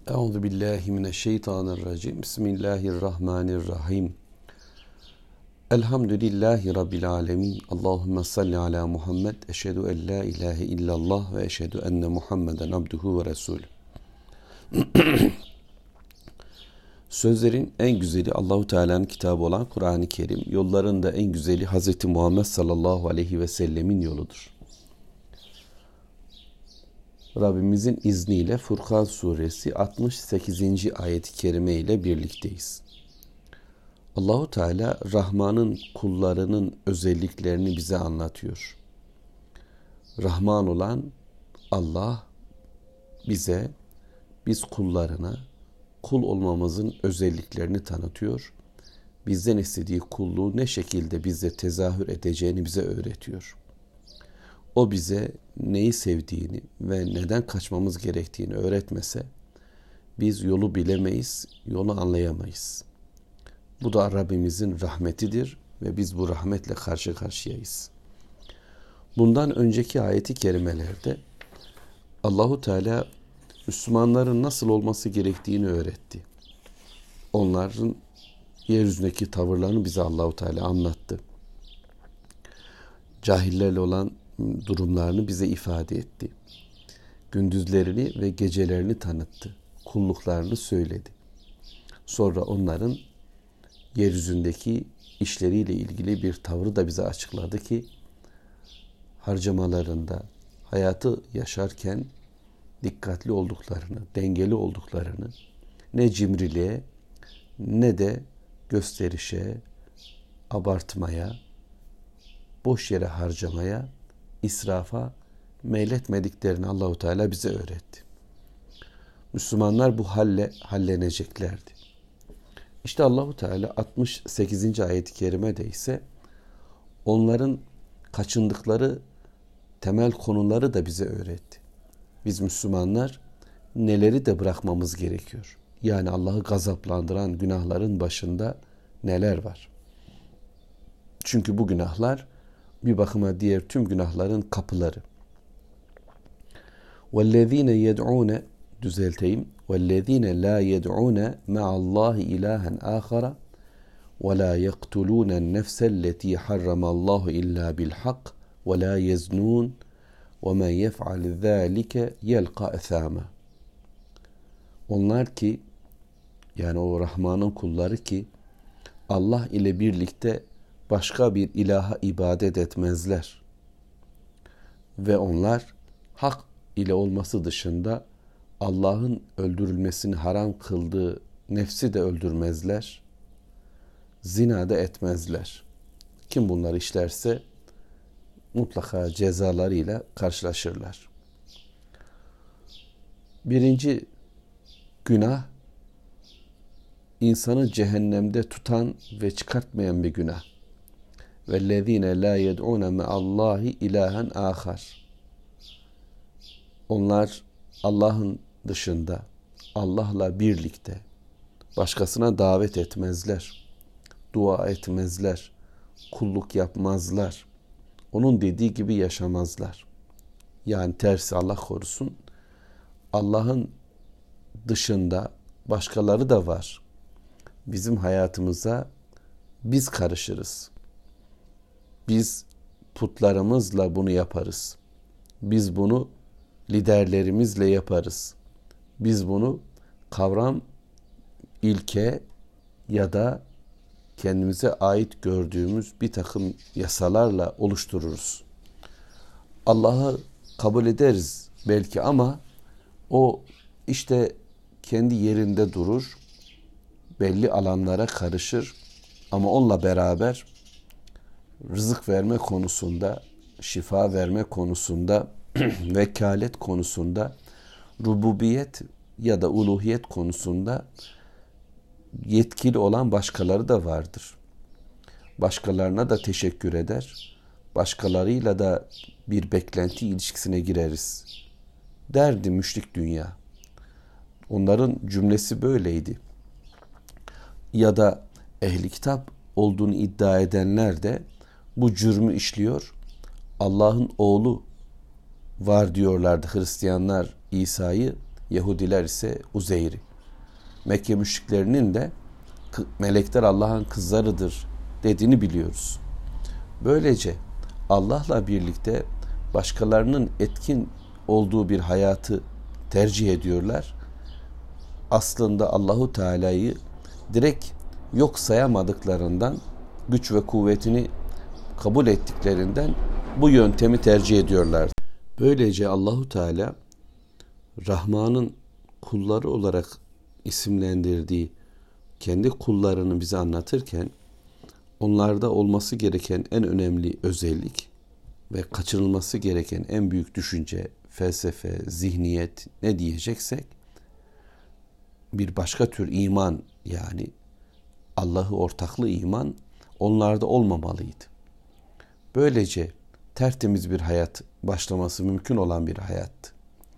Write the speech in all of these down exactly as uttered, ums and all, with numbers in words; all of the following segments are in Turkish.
Euzu billahi mineşşeytanirracim. Bismillahirrahmanirrahim. Elhamdülillahi rabbil alamin. Allahumme salli ala Muhammed. Eşhedü en la ilahe illallah ve eşhedü enne Muhammeden abduhu ve resulü. Sözlerin en güzeli Allahu Teala'nın kitabı olan Kur'an-ı Kerim. Yolların da en güzeli Hazreti Muhammed sallallahu aleyhi ve sellemin yoludur. Rabbimizin izniyle Furkan suresi altmış sekizinci ayet-i kerime ile birlikteyiz. Allahu Teala Rahman'ın kullarının özelliklerini bize anlatıyor. Rahman olan Allah bize, biz kullarına kul olmamızın özelliklerini tanıtıyor. Bizden istediği kulluğu ne şekilde bize tezahür edeceğini bize öğretiyor. O bize neyi sevdiğini ve neden kaçmamız gerektiğini öğretmese biz yolu bilemeyiz, yolu anlayamayız. Bu da Rabbimizin rahmetidir ve biz bu rahmetle karşı karşıyayız. Bundan önceki ayeti kerimelerde Allahu Teala Müslümanların nasıl olması gerektiğini öğretti. Onların yeryüzündeki tavırlarını bize Allahu Teala anlattı. Cahillerle olan durumlarını bize ifade etti. Gündüzlerini ve gecelerini tanıttı. Kulluklarını söyledi. Sonra onların yeryüzündeki işleriyle ilgili bir tavrı da bize açıkladı ki harcamalarında hayatı yaşarken dikkatli olduklarını, dengeli olduklarını, ne cimriliğe ne de gösterişe, abartmaya, boş yere harcamaya, israfa meyletmediklerini Allahu Teala bize öğretti. Müslümanlar bu halle halleneceklerdi. İşte Allahu Teala altmış sekizinci ayet-i kerimede ise onların kaçındıkları temel konuları da bize öğretti. Biz Müslümanlar neleri de bırakmamız gerekiyor. Yani Allah'ı gazaplandıran günahların başında neler var? Çünkü bu günahlar bir bakıma diğer tüm günahların kapıları. وَالَّذ۪ينَ يَدْعُونَ düzelteyim. وَالَّذ۪ينَ لَا يَدْعُونَ مَعَ اللّٰهِ اِلَٰهًا آخَرَ وَلَا يَقْتُلُونَ النَّفْسَ الَّتِي حَرَّمَ اللّٰهُ اِلَّا بِالْحَقِّ وَلَا يَزْنُونَ وَمَنْ يَفْعَلْ ذَٰلِكَ يَلْقَى أَثَامًا. Onlar ki, yani o Rahman'ın kulları ki Allah ile birlikte başka bir ilaha ibadet etmezler. Ve onlar hak ile olması dışında Allah'ın öldürülmesini haram kıldığı nefsi de öldürmezler. Zina da etmezler. Kim bunları işlerse mutlaka cezalarıyla karşılaşırlar. Birinci günah, insanı cehennemde tutan ve çıkartmayan bir günah. وَالَّذ۪ينَ لَا يَدْعُونَ مَعَ اللّٰهِ اِلَٰهًا آخَرٍ. Onlar Allah'ın dışında, Allah'la birlikte başkasına davet etmezler, dua etmezler, kulluk yapmazlar, onun dediği gibi yaşamazlar. Yani tersi, Allah korusun, Allah'ın dışında başkaları da var. Bizim hayatımıza biz karışırız. Biz putlarımızla bunu yaparız. Biz bunu liderlerimizle yaparız. Biz bunu kavram, ilke ya da kendimize ait gördüğümüz bir takım yasalarla oluştururuz. Allah'ı kabul ederiz belki ama o işte kendi yerinde durur, belli alanlara karışır ama onunla beraber rızık verme konusunda, şifa verme konusunda, vekalet konusunda, rububiyet ya da uluhiyet konusunda yetkili olan başkaları da vardır. Başkalarına da teşekkür eder. Başkalarıyla da bir beklenti ilişkisine gireriz. Derdi müşrik dünya. Onların cümlesi böyleydi. Ya da ehli kitap olduğunu iddia edenler de bu cürmü işliyor. Allah'ın oğlu var diyorlardı Hristiyanlar İsa'yı Yahudiler ise Uzeyr'i. Mekke müşriklerinin de melekler Allah'ın kızlarıdır dediğini biliyoruz. Böylece Allah'la birlikte başkalarının etkin olduğu bir hayatı tercih ediyorlar. Aslında Allahu Teala'yı direkt yok sayamadıklarından, güç ve kuvvetini kabul ettiklerinden bu yöntemi tercih ediyorlar. Böylece Allahu Teala Rahman'ın kulları olarak isimlendirdiği kendi kullarını bize anlatırken onlarda olması gereken en önemli özellik ve kaçırılması gereken en büyük düşünce, felsefe, zihniyet ne diyeceksek bir başka tür iman, yani Allah'ı ortaklı iman onlarda olmamalıydı. Böylece tertemiz bir hayat başlaması mümkün olan bir hayattı.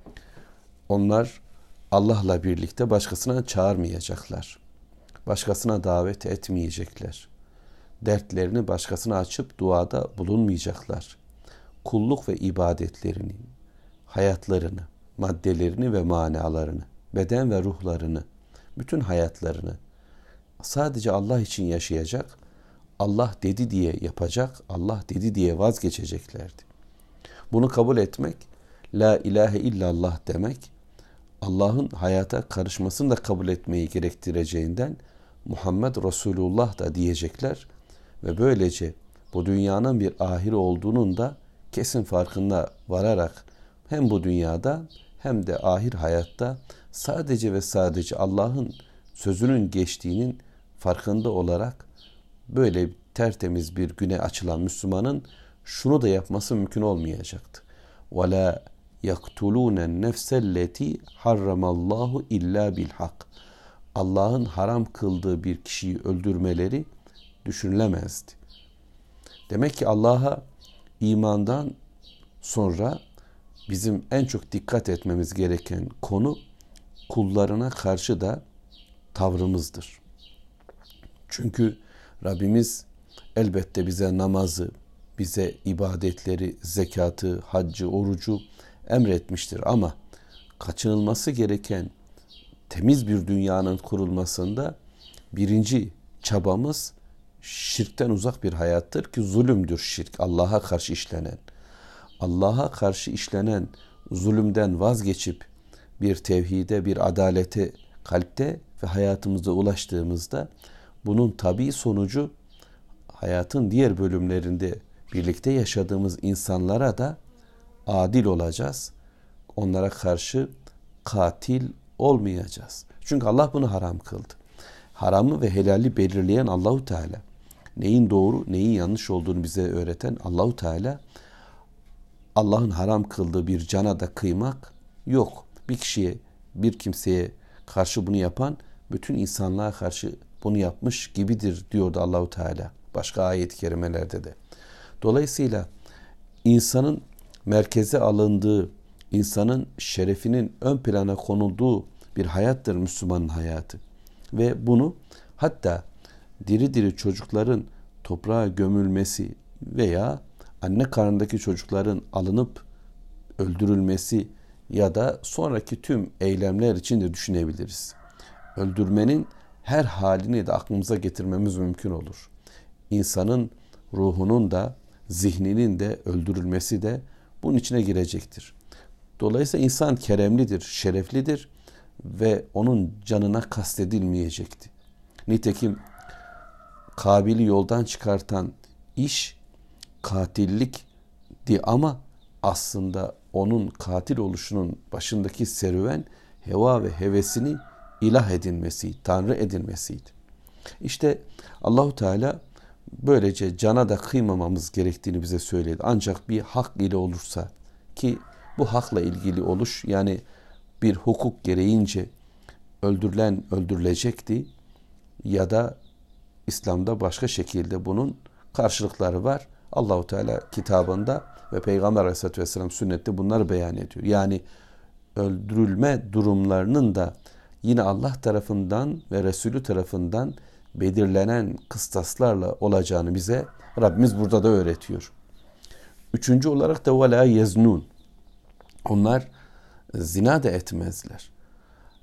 Onlar Allah'la birlikte başkasına çağırmayacaklar. Başkasına davet etmeyecekler. Dertlerini başkasına açıp duada bulunmayacaklar. Kulluk ve ibadetlerini, hayatlarını, maddelerini ve manalarını, beden ve ruhlarını, bütün hayatlarını sadece Allah için yaşayacak, Allah dedi diye yapacak, Allah dedi diye vazgeçeceklerdi. Bunu kabul etmek, la ilahe illallah demek, Allah'ın hayata karışmasını da kabul etmeyi gerektireceğinden Muhammed Resulullah da diyecekler ve böylece bu dünyanın bir ahiri olduğunun da kesin farkına vararak hem bu dünyada hem de ahir hayatta sadece ve sadece Allah'ın sözünün geçtiğinin farkında olarak böyle tertemiz bir güne açılan Müslümanın şunu da yapması mümkün olmayacaktı. وَلَا يَقْتُلُونَ النَّفْسَ الَّتِي حَرَّمَ اللّٰهُ اِلَّا بِالْحَقِّ Allah'ın haram kıldığı bir kişiyi öldürmeleri düşünülemezdi. Demek ki Allah'a imandan sonra bizim en çok dikkat etmemiz gereken konu kullarına karşı da tavrımızdır. Çünkü Rabbimiz elbette bize namazı, bize ibadetleri, zekatı, haccı, orucu emretmiştir ama kaçınılması gereken temiz bir dünyanın kurulmasında birinci çabamız şirkten uzak bir hayattır ki zulümdür şirk, Allah'a karşı işlenen. Allah'a karşı işlenen zulümden vazgeçip bir tevhide, bir adalete kalpte ve hayatımızda ulaştığımızda bunun tabii sonucu hayatın diğer bölümlerinde birlikte yaşadığımız insanlara da adil olacağız. Onlara karşı katil olmayacağız. Çünkü Allah bunu haram kıldı. Haramı ve helali belirleyen Allahu Teala. Neyin doğru, neyin yanlış olduğunu bize öğreten Allahu Teala. Allah'ın haram kıldığı bir cana da kıymak yok. Bir kişiye, bir kimseye karşı bunu yapan bütün insanlığa karşı bunu yapmış gibidir diyordu Allahu Teala başka ayet-i kerimelerde de. Dolayısıyla insanın merkeze alındığı, insanın şerefinin ön plana konulduğu bir hayattır Müslümanın hayatı. Ve bunu hatta diri diri çocukların toprağa gömülmesi veya anne karnındaki çocukların alınıp öldürülmesi ya da sonraki tüm eylemler için de düşünebiliriz. Öldürmenin her halini de aklımıza getirmemiz mümkün olur. İnsanın ruhunun da zihninin de öldürülmesi de bunun içine girecektir. Dolayısıyla insan keremlidir, şereflidir ve onun canına kastedilmeyecekti. Nitekim Kabil'i yoldan çıkartan iş katillikti ama aslında onun katil oluşunun başındaki serüven heva ve hevesini ilah edinmesi, tanrı edinmesiydi. İşte Allahu Teala böylece cana da kıymamamız gerektiğini bize söyledi. Ancak bir hak ile olursa, ki bu hakla ilgili oluş yani bir hukuk gereğince öldürülen öldürülecekti ya da İslam'da başka şekilde bunun karşılıkları var. Allahu Teala kitabında ve Peygamber Aleyhisselatü Vesselam sünnette bunları beyan ediyor. Yani öldürülme durumlarının da yine Allah tarafından ve Resulü tarafından belirlenen kıstaslarla olacağını bize Rabbimiz burada da öğretiyor. Üçüncü olarak da وَلَا يَزْنُونَ Onlar zina da etmezler.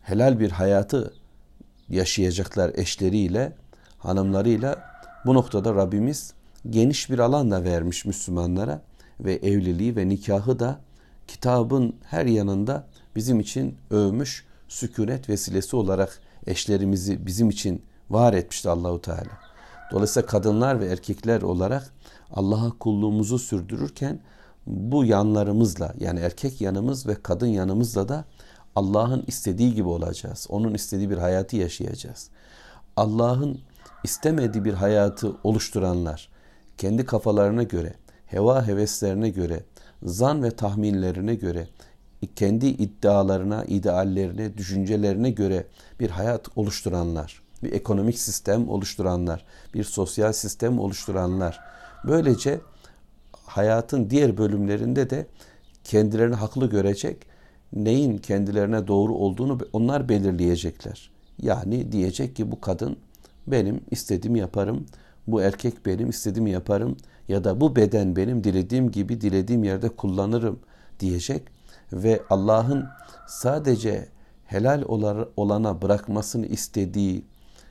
helal bir hayatı yaşayacaklar eşleriyle, hanımlarıyla. Bu noktada Rabbimiz geniş bir alan da vermiş Müslümanlara ve evliliği ve nikahı da kitabın her yanında bizim için övmüş, sükunet vesilesi olarak eşlerimizi bizim için var etmişti Allahu Teala. Dolayısıyla kadınlar ve erkekler olarak Allah'a kulluğumuzu sürdürürken bu yanlarımızla, yani erkek yanımız ve kadın yanımızla da Allah'ın istediği gibi olacağız. Onun istediği bir hayatı yaşayacağız. Allah'ın istemediği bir hayatı oluşturanlar, kendi kafalarına göre, heva heveslerine göre, zan ve tahminlerine göre, kendi iddialarına, ideallerine, düşüncelerine göre bir hayat oluşturanlar, bir ekonomik sistem oluşturanlar, bir sosyal sistem oluşturanlar, böylece hayatın diğer bölümlerinde de kendilerini haklı görecek, neyin kendilerine doğru olduğunu onlar belirleyecekler. Yani diyecek ki bu kadın benim istediğimi yaparım, bu erkek benim istediğimi yaparım ya da bu beden benim dilediğim gibi dilediğim yerde kullanırım diyecek ve Allah'ın sadece helal olana bırakmasını istediği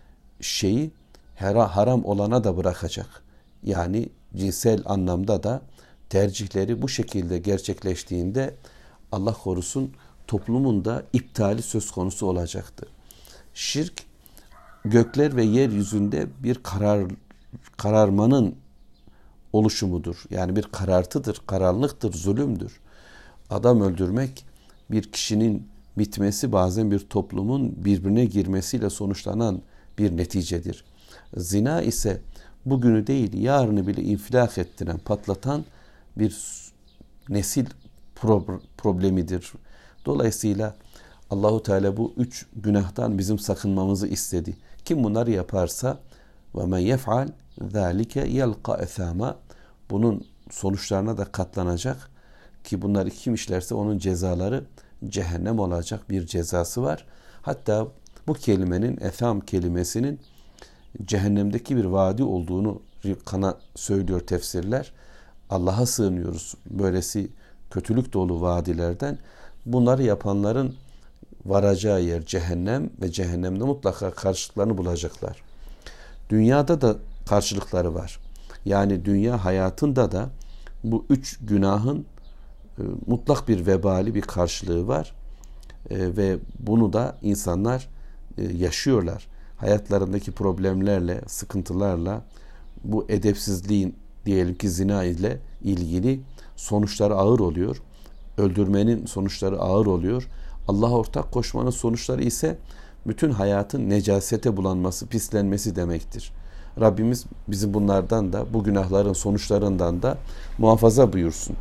şeyi haram olana da bırakacak. Yani cinsel anlamda da tercihleri bu şekilde gerçekleştiğinde Allah korusun toplumun da iptali söz konusu olacaktı. Şirk gökler ve yeryüzünde bir karar kararmanın oluşumudur. Yani bir karartıdır, karanlıktır, zulümdür. Adam öldürmek bir kişinin bitmesi, bazen bir toplumun birbirine girmesiyle sonuçlanan bir neticedir. Zina ise bugünü değil yarını bile infilak ettiren, patlatan bir nesil problemidir. Dolayısıyla Allahu Teala bu üç günahtan bizim sakınmamızı istedi. Kim bunları yaparsa ve men yef'al zalike yelqa esama, bunun sonuçlarına da katlanacak ki bunları kim işlerse onun cezaları cehennem olacak bir cezası var. Hatta bu kelimenin, etham kelimesinin cehennemdeki bir vadi olduğunu kana söylüyor tefsirler. Allah'a sığınıyoruz böylesi kötülük dolu vadilerden. Bunları yapanların varacağı yer cehennem ve cehennemde mutlaka karşılıklarını bulacaklar. Dünyada da karşılıkları var. Yani dünya hayatında da bu üç günahın e, mutlak bir vebali, bir karşılığı var. E, ve bunu da insanlar e, yaşıyorlar. Hayatlarındaki problemlerle, sıkıntılarla, bu edepsizliğin diyelim ki zina ile ilgili sonuçları ağır oluyor. Öldürmenin sonuçları ağır oluyor. Allah'a ortak koşmanın sonuçları ise bütün hayatın necasete bulanması, pislenmesi demektir. Rabbimiz bizi bunlardan da, bu günahların sonuçlarından da muhafaza buyursun.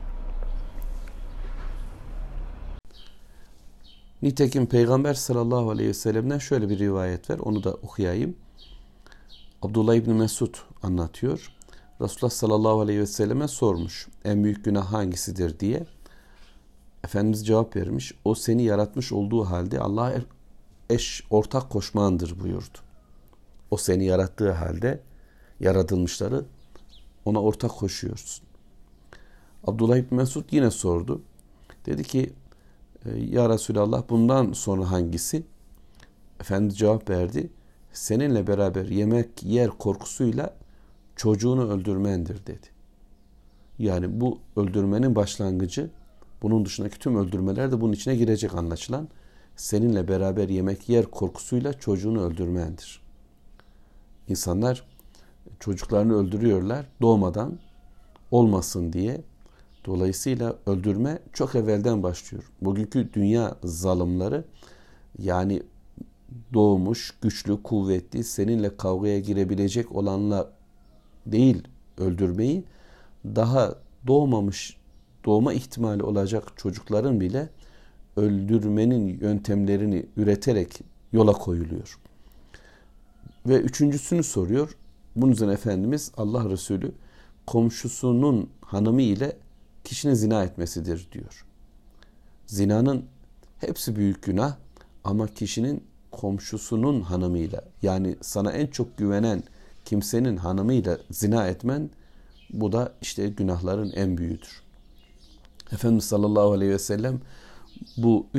Nitekim Peygamber sallallahu aleyhi ve sellem'den şöyle bir rivayet var. Onu da okuyayım. Abdullah İbni Mesud anlatıyor. Resulullah sallallahu aleyhi ve selleme sormuş. En büyük günah hangisidir diye. Efendimiz cevap vermiş. O seni yaratmış olduğu halde Allah'a eş, ortak koşmandır buyurdu. O seni yarattığı halde yaratılmışları ona ortak koşuyorsun. Abdullah İbni Mesud yine sordu. Dedi ki ya Resulallah bundan sonra hangisi? Efendimiz cevap verdi. Seninle beraber yemek yer korkusuyla çocuğunu öldürmendir dedi. Yani bu öldürmenin başlangıcı, bunun dışındaki tüm öldürmeler de bunun içine girecek anlaşılan. Seninle beraber yemek yer korkusuyla çocuğunu öldürmendir. İnsanlar çocuklarını öldürüyorlar doğmadan olmasın diye. Dolayısıyla öldürme çok evvelden başlıyor. Bugünkü dünya zalimleri yani doğmuş, güçlü, kuvvetli, seninle kavgaya girebilecek olanla değil öldürmeyi, daha doğmamış, doğma ihtimali olacak çocukların bile öldürmenin yöntemlerini üreterek yola koyuluyor. Ve üçüncüsünü soruyor. Bunun üzerine Efendimiz Allah Resulü komşusunun hanımı ile kişinin zina etmesidir diyor. Zinanın hepsi büyük günah ama kişinin komşusunun hanımıyla, yani sana en çok güvenen kimsenin hanımıyla zina etmen, bu da işte günahların en büyüğüdür. Efendimiz sallallahu aleyhi ve sellem bu üç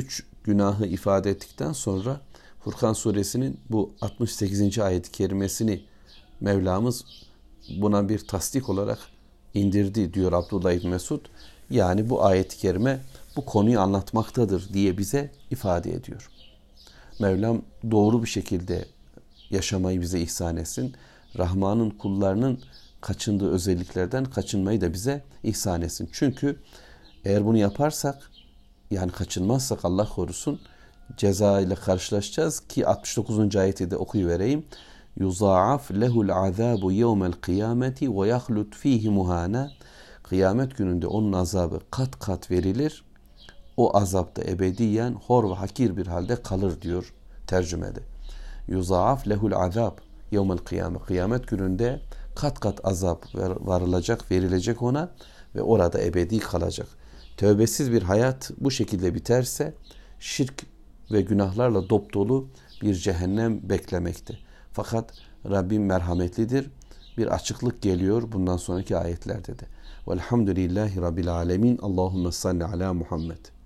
günahı ifade ettikten sonra Furkan suresinin bu altmış sekizinci ayet-i kerimesini Mevlamız buna bir tasdik olarak indirdi diyor Abdullah İbni Mesud. Yani bu ayet-i kerime bu konuyu anlatmaktadır diye bize ifade ediyor. Mevlam doğru bir şekilde yaşamayı bize ihsan etsin. Rahman'ın kullarının kaçındığı özelliklerden kaçınmayı da bize ihsan etsin. Çünkü eğer bunu yaparsak, yani kaçınmazsak Allah korusun, ceza ile karşılaşacağız ki altmış dokuzuncu ayeti de okuyuvereyim. Yuzaaf lehul azabu yevmel kıyameti ve yahlut fihi muhana. Kıyamet gününde onun azabı kat kat verilir. O azapta ebediyen hor ve hakir bir halde kalır diyor tercümede. Yuzaaf lehul azab yevmel kıyamet. Kıyamet gününde kat kat azap varılacak, verilecek ona ve orada ebedi kalacak. Tövbesiz bir hayat bu şekilde biterse şirk ve günahlarla dop dolu bir cehennem beklemekte. Fakat Rabbim merhametlidir. Bir açıklık geliyor bundan sonraki ayetlerde de. Velhamdülillahi Rabbil alemin. Allahümme salli ala Muhammed.